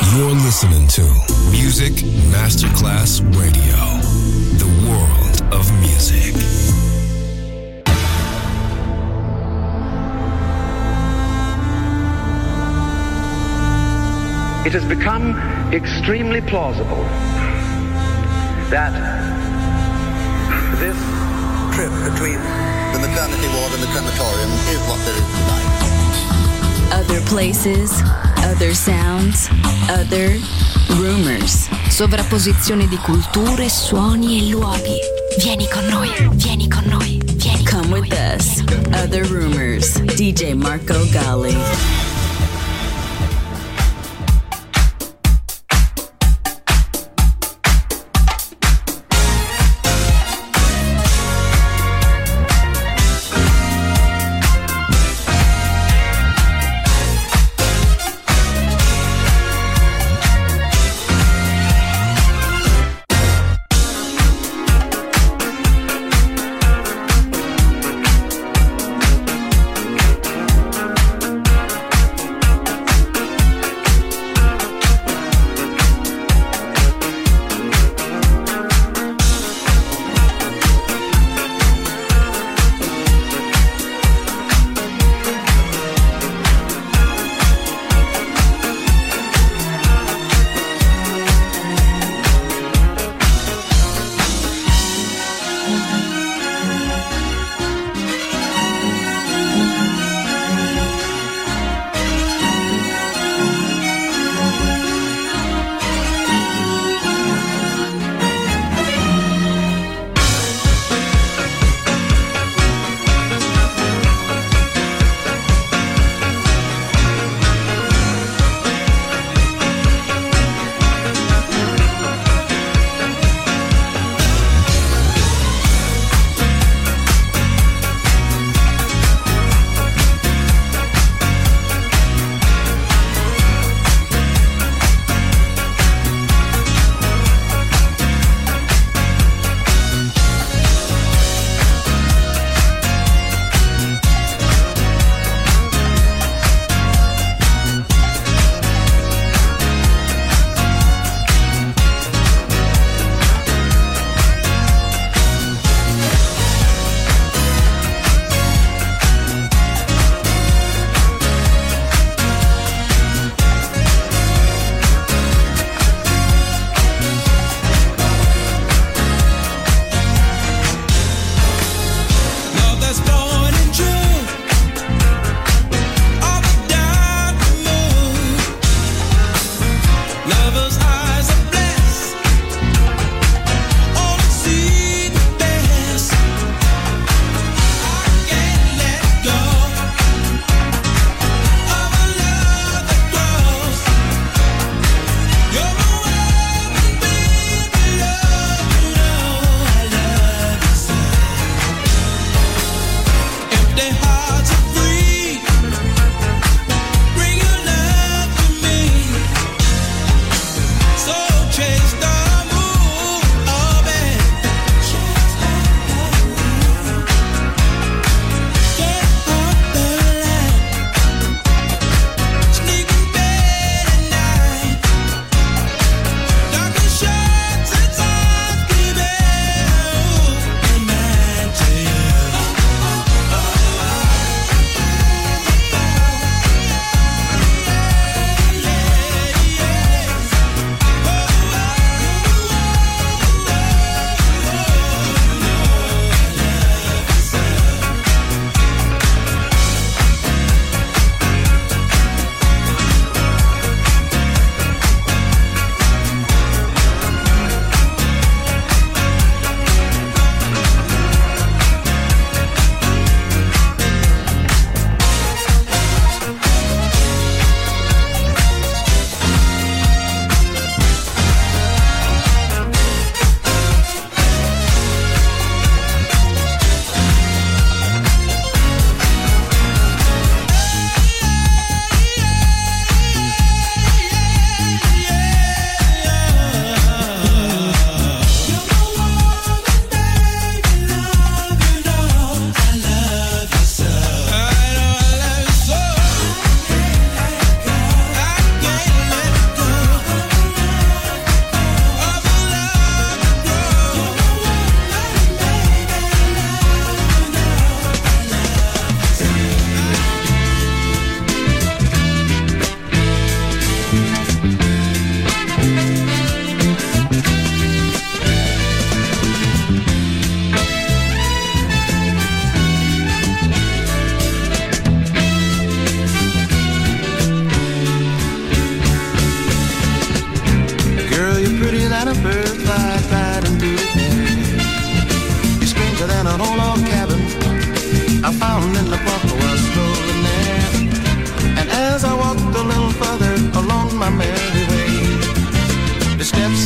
You're listening to Music Masterclass Radio, the world of music. It has become extremely plausible that this trip between the maternity ward and the crematorium is what there is tonight. Other places, other sounds, other rumors. Sovrapposizione di culture, suoni e luoghi. Vieni con noi, vieni con noi, vieni con noi. Come with us. Other Rumors. DJ Marco Gally.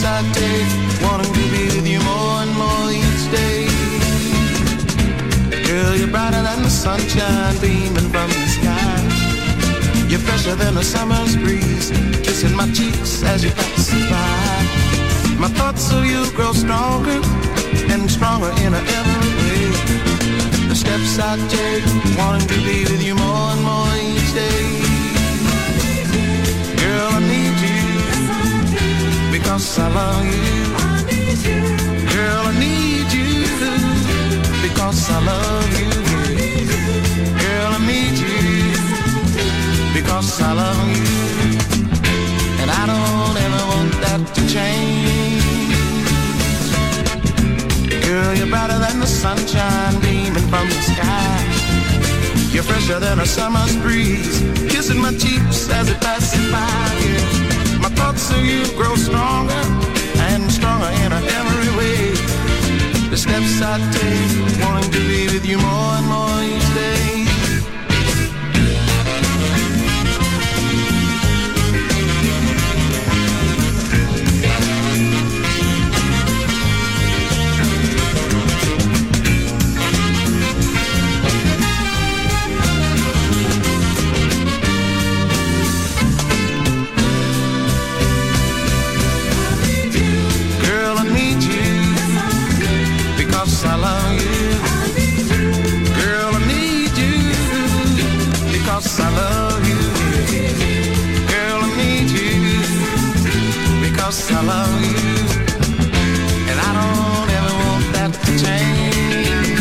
steps I take, wanting to be with you more and more each day. Girl, you're brighter than the sunshine beaming from the sky. You're fresher than a summer's breeze, kissing my cheeks as you pass by. My thoughts of you grow stronger and stronger in every way. The steps I take, wanting to be with you more and more each day. Girl, I need you, because I love you. Girl, I need you, because I love you. Girl, I need you, because I love you. And I don't ever want that to change. Girl, you're brighter than the sunshine beaming from the sky. You're fresher than a summer's breeze, kissing my cheeks as it passes by. Yeah. My thoughts of you grow stronger and stronger in every way. The steps I take, wanting to be with you more and more each day. I love you. Girl, I need you, because I love you. Girl, I need you, because I love you. And I don't ever want that to change.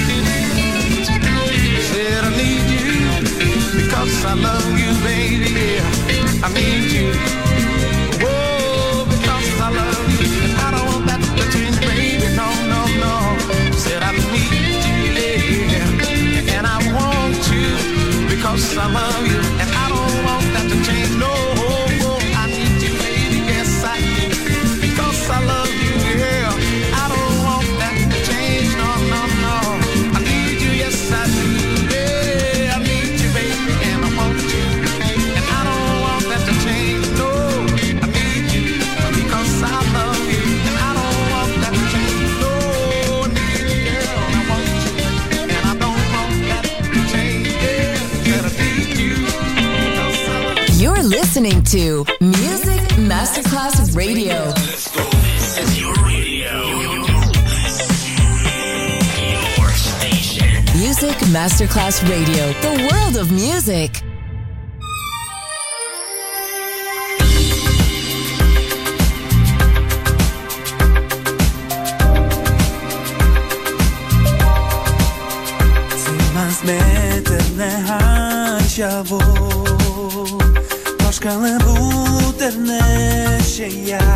Said I need you, because I love you, baby. I need you. Whoa, because I love you. And I don't want that to change, baby. No, no, no. Said I need you, yeah, and I want you, because I love you, and I don't want that to change, no, I need you, baby, yes I do, because I love you, yeah, I don't want that to change, no, no, no, I need you, yes I do, yeah, I need you, baby, and I want you, and I don't want that to change, no, I need you, because I love you, and I don't want that to change, no. You're listening to Music Masterclass Radio. Let's go. This is your radio. Your station. Music Masterclass Radio. The world of music. Shkallën rrutër në shëja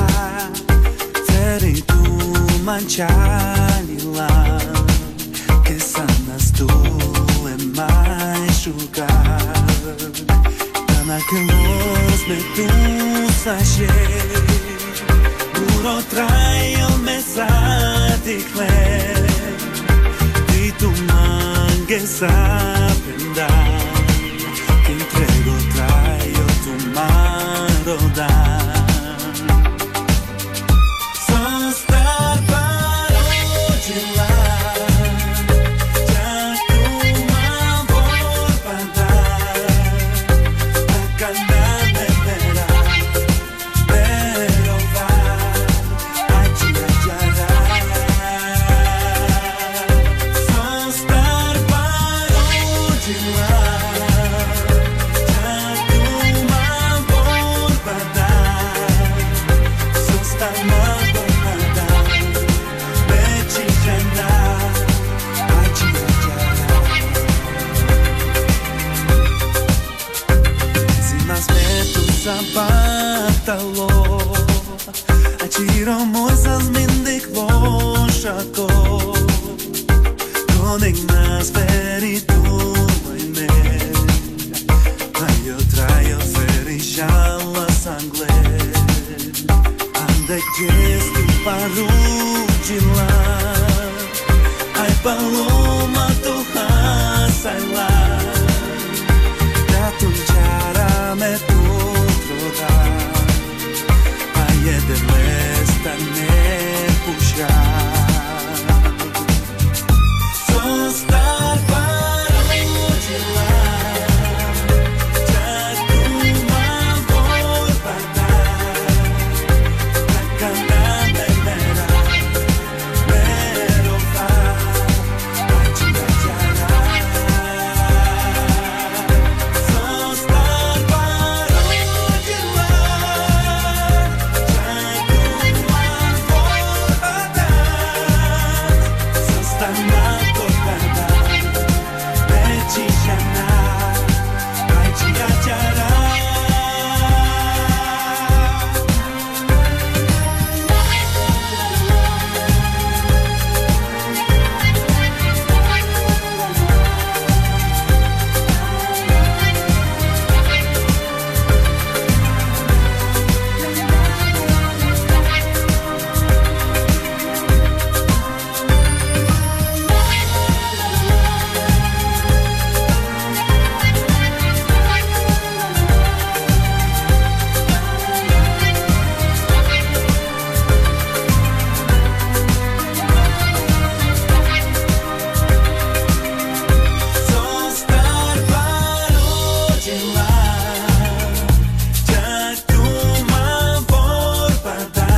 Feri tu manqalila Che sanno tu e mai sciugar Dana che los me tu sashe Puro traio mesati kle Di tu manche sapenda Che entrego traio tu mano da Qiro mojës mindik voshako Konik nas veri tu mojne Ajo trajo feri shala sangle Ande gjes tu paru gjila Aj paloma tu hasajla Da tu njara me tu troda jedeme stane pušar. Zostar parodila, čak uma borba, taka nam mera, merova, ačina čara. Zostar parodila, čak uma borba, zostana tocada, pečijana, ajčija čara. Zostar parodila, čak uma borba,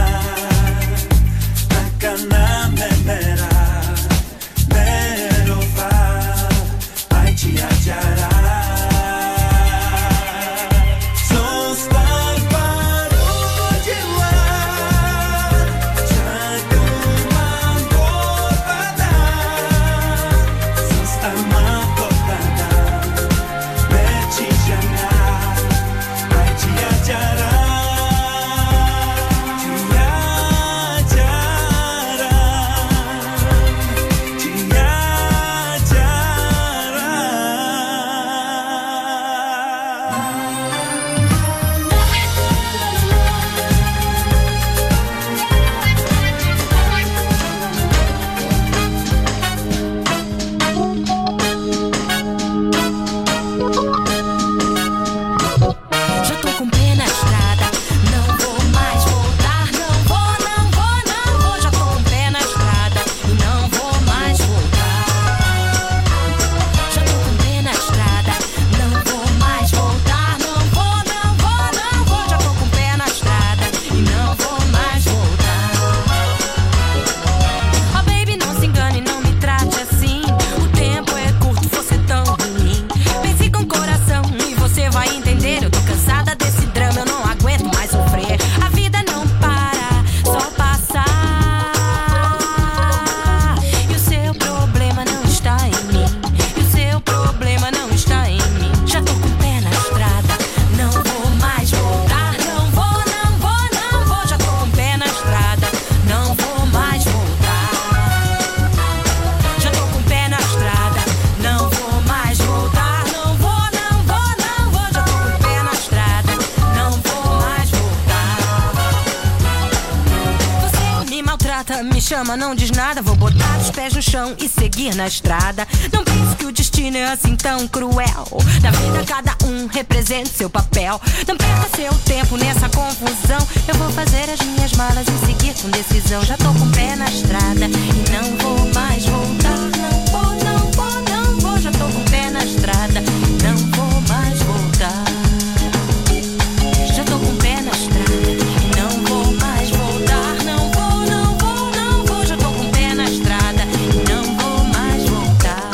taka nam mera, merova, ajčija čara. Zostar parodila, čak uma borba, zostana tocada, pečijana, ajčija čara. Já tô com pé na estrada, não vou mais voltar, não vou, não vou, não vou. Já tô com pé na estrada e não vou mais voltar. Já tô com pé na estrada, não vou mais voltar, não vou, não vou, não vou. Já tô com pé na estrada e não vou mais voltar. Oh baby, não se engane, não me trate assim. O tempo é curto, você tão ruim. Pense com o coração e você vai entender. Eu tô cansada desse drama, eu não aguento mais sofrer. A vida não para, só passa. E o seu problema não está em mim. E o seu problema não está em mim. Já tô com o pé na estrada, não vou mais voltar. Não vou, não vou, não vou. Já tô com o pé na estrada, não vou mais voltar. Já tô com o pé na estrada, não vou mais voltar. Não vou, não vou, não vou. Já tô com o pé na estrada, não vou mais voltar. Você me maltrata, me chama, não diz nada. Vou botar os pés no chão e seguir na estrada. Não pense que o destino é assim tão cruel. Na vida cada um representa seu papel. Não perca seu tempo nessa confusão. Eu vou fazer as minhas malas e seguir com decisão. Já tô com o pé na estrada e não vou mais voltar. Não vou, não vou, não vou. Já tô com o pé na estrada, não vou mais voltar. Já tô com o pé na estrada e não vou mais voltar. Não vou, não vou, não vou. Já tô com o pé na estrada e não vou mais voltar.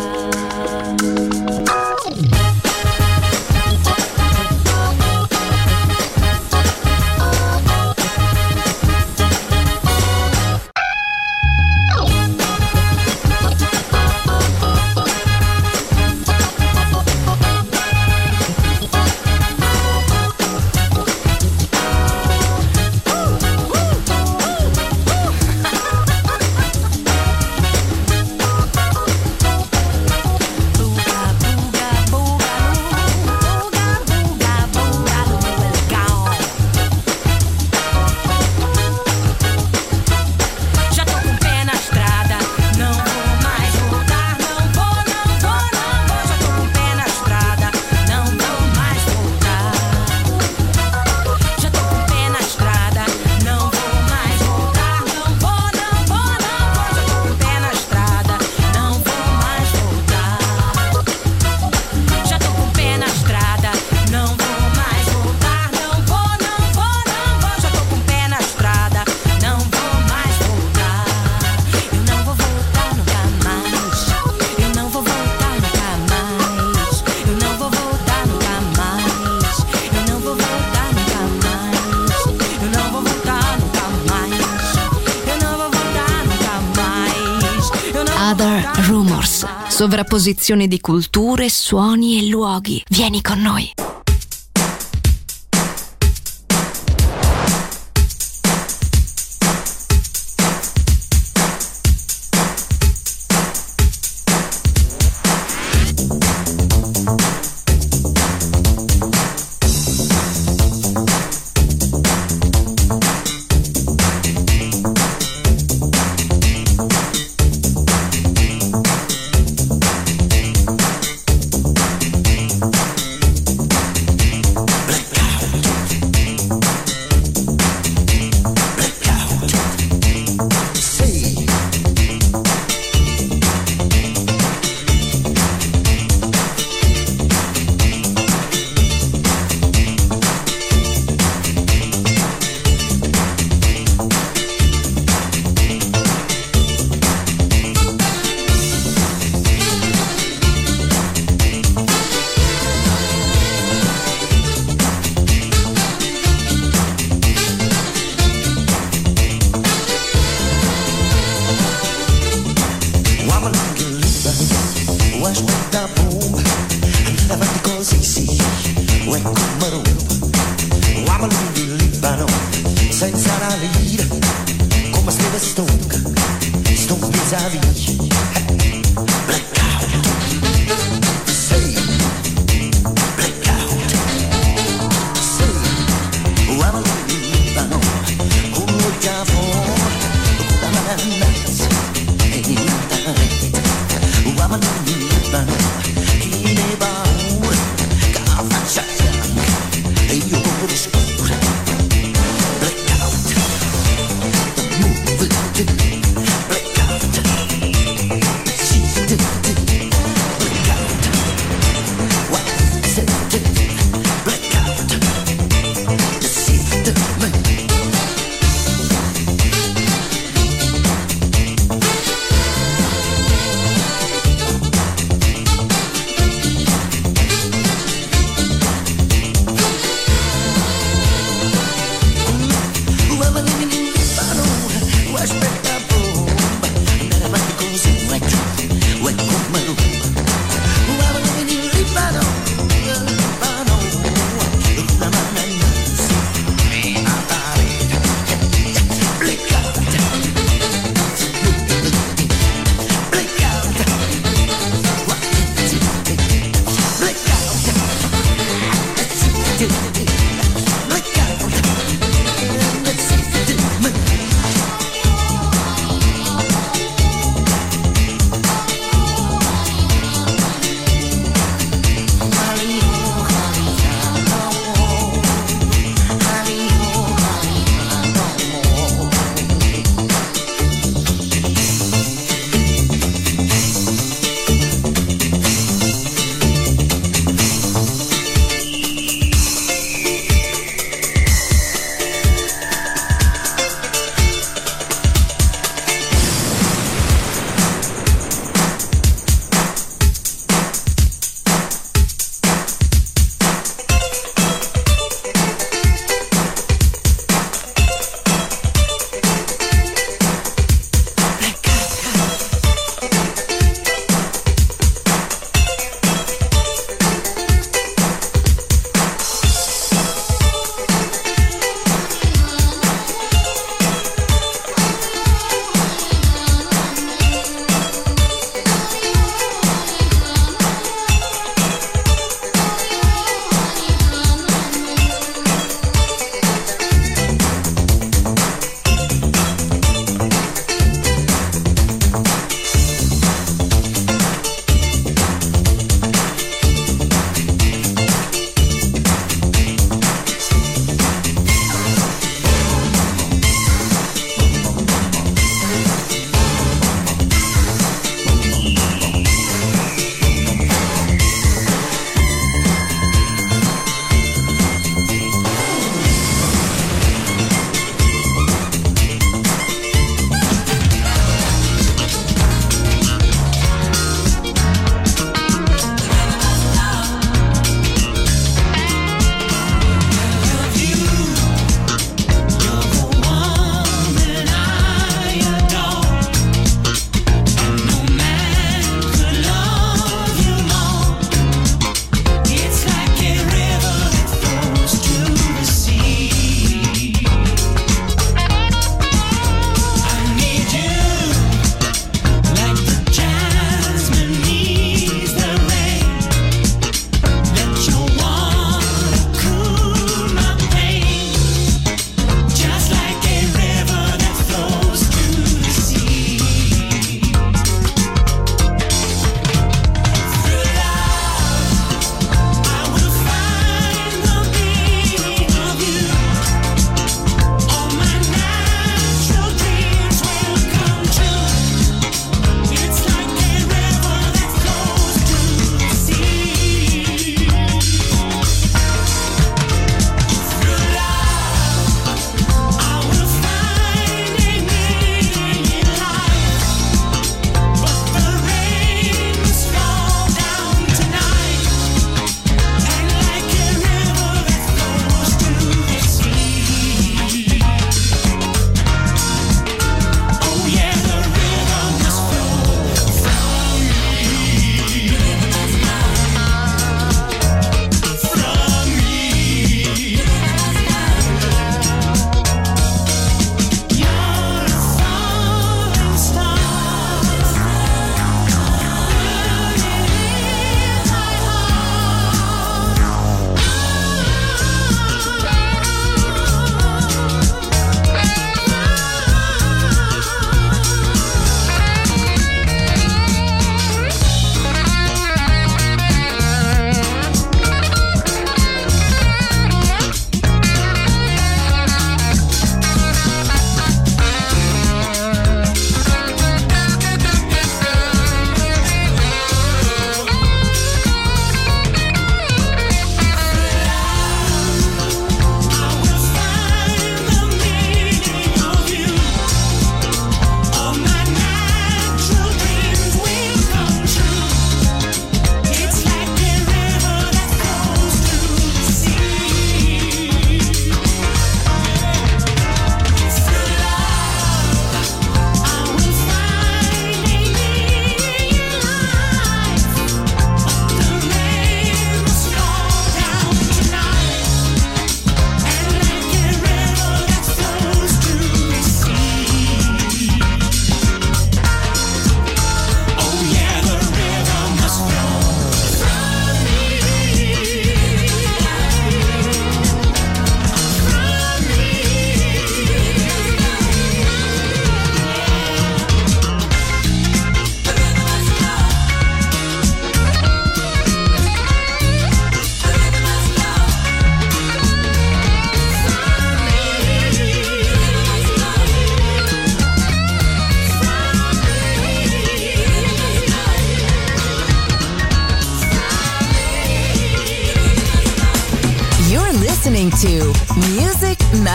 Sovrapposizione di culture, suoni e luoghi. Vieni con noi.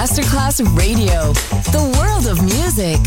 Masterclass Radio, the world of music.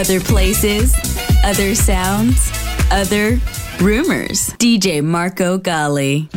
Other places, other sounds, other rumors. DJ Marco Gally.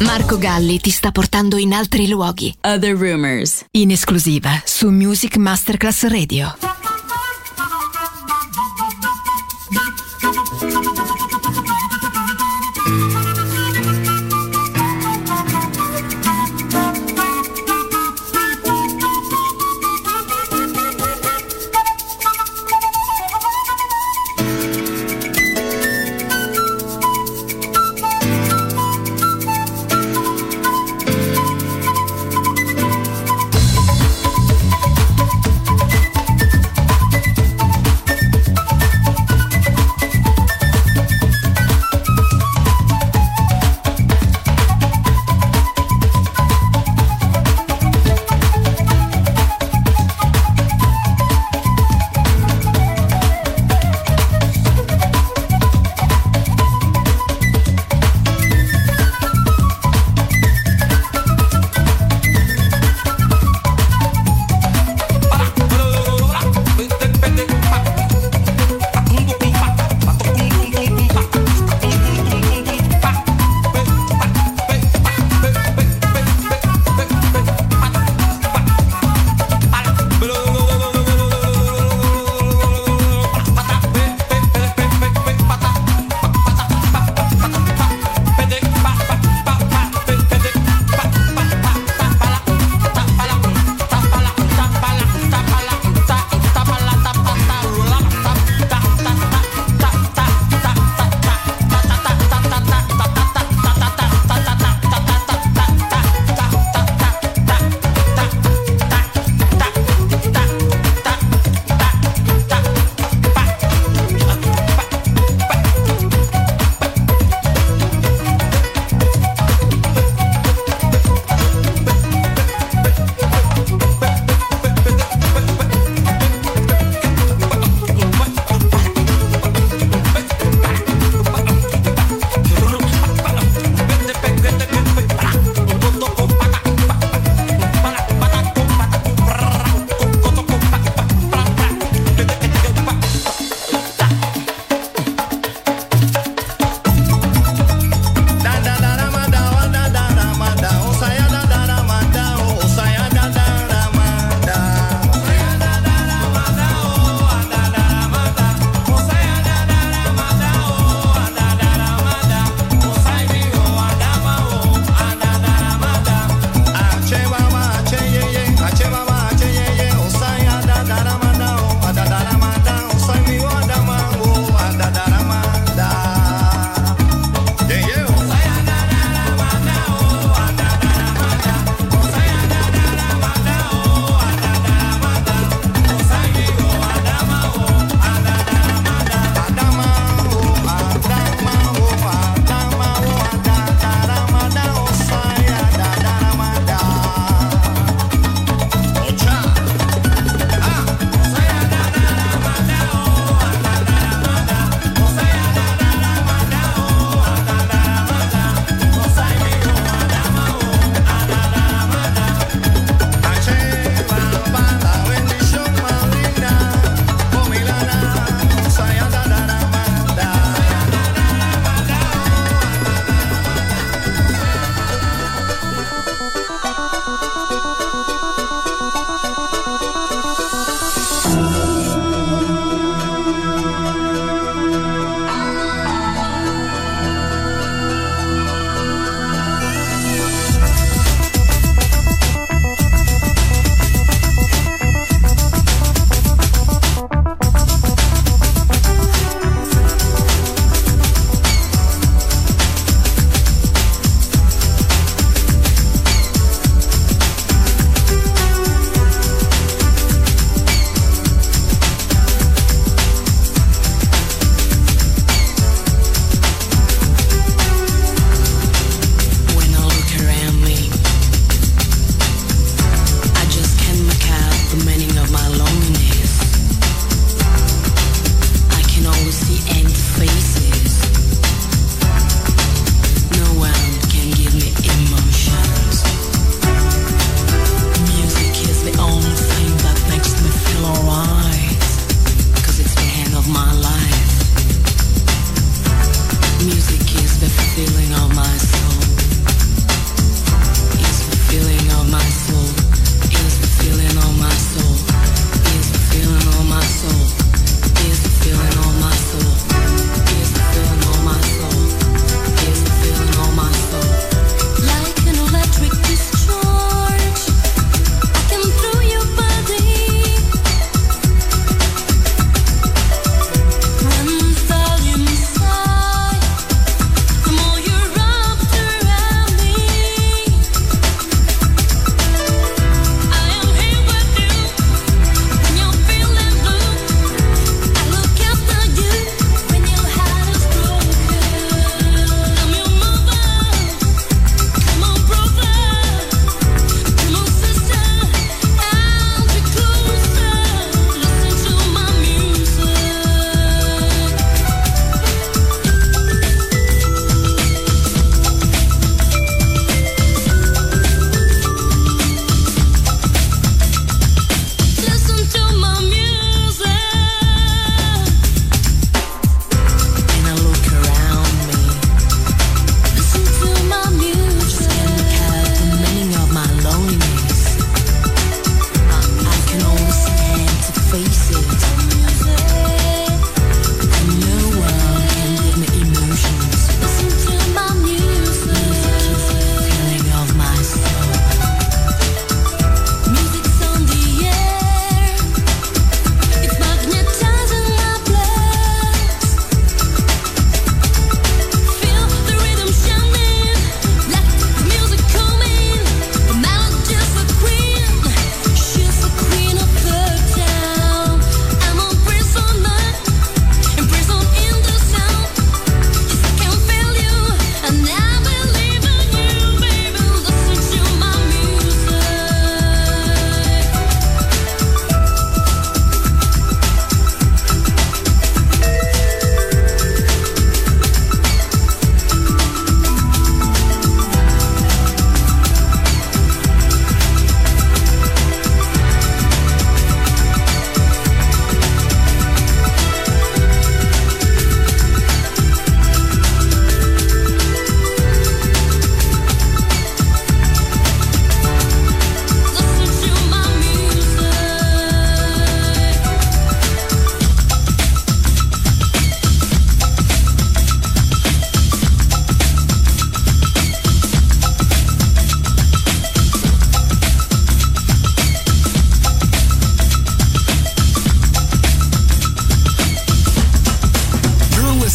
Marco Galli ti sta portando in altri luoghi. Other Rumors, in esclusiva su Music Masterclass Radio.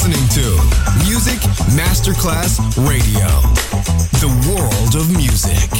listening to Music Masterclass Radio, the world of music.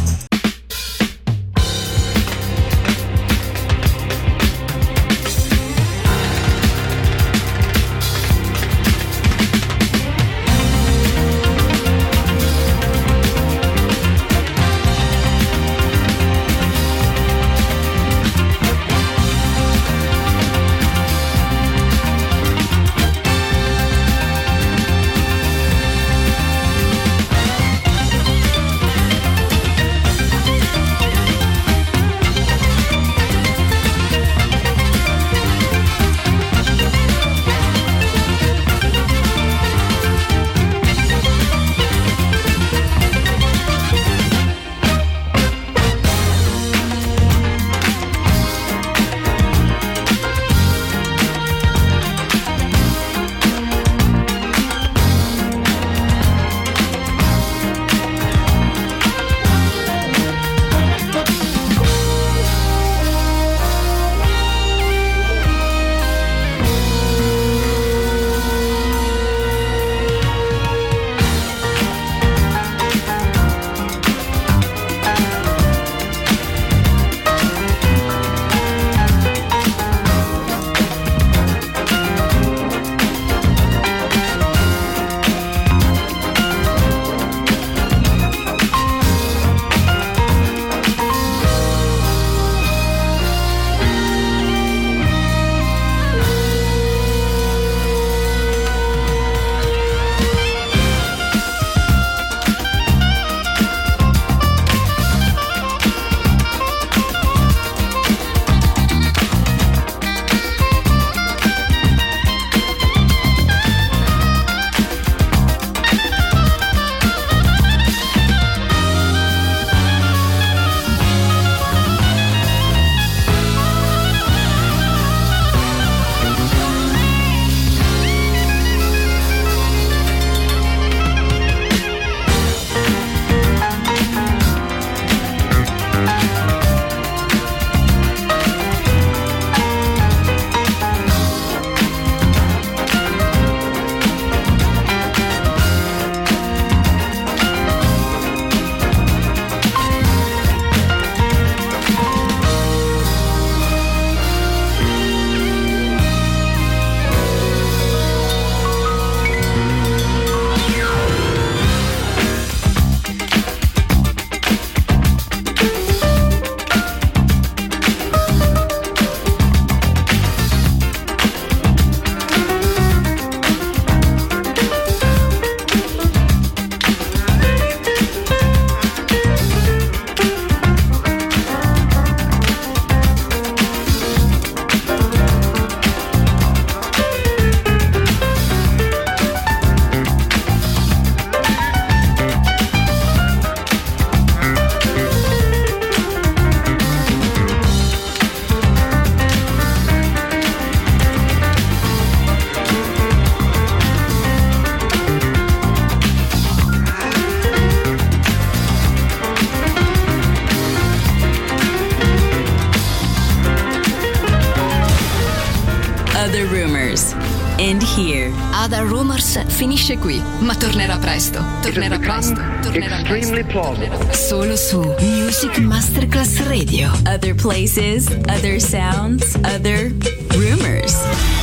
And here. Other Rumors finisce qui, ma tornerà presto. Tornerà presto. Extremely plausible. Solo su Music Masterclass Radio. Other places, other sounds, other rumors.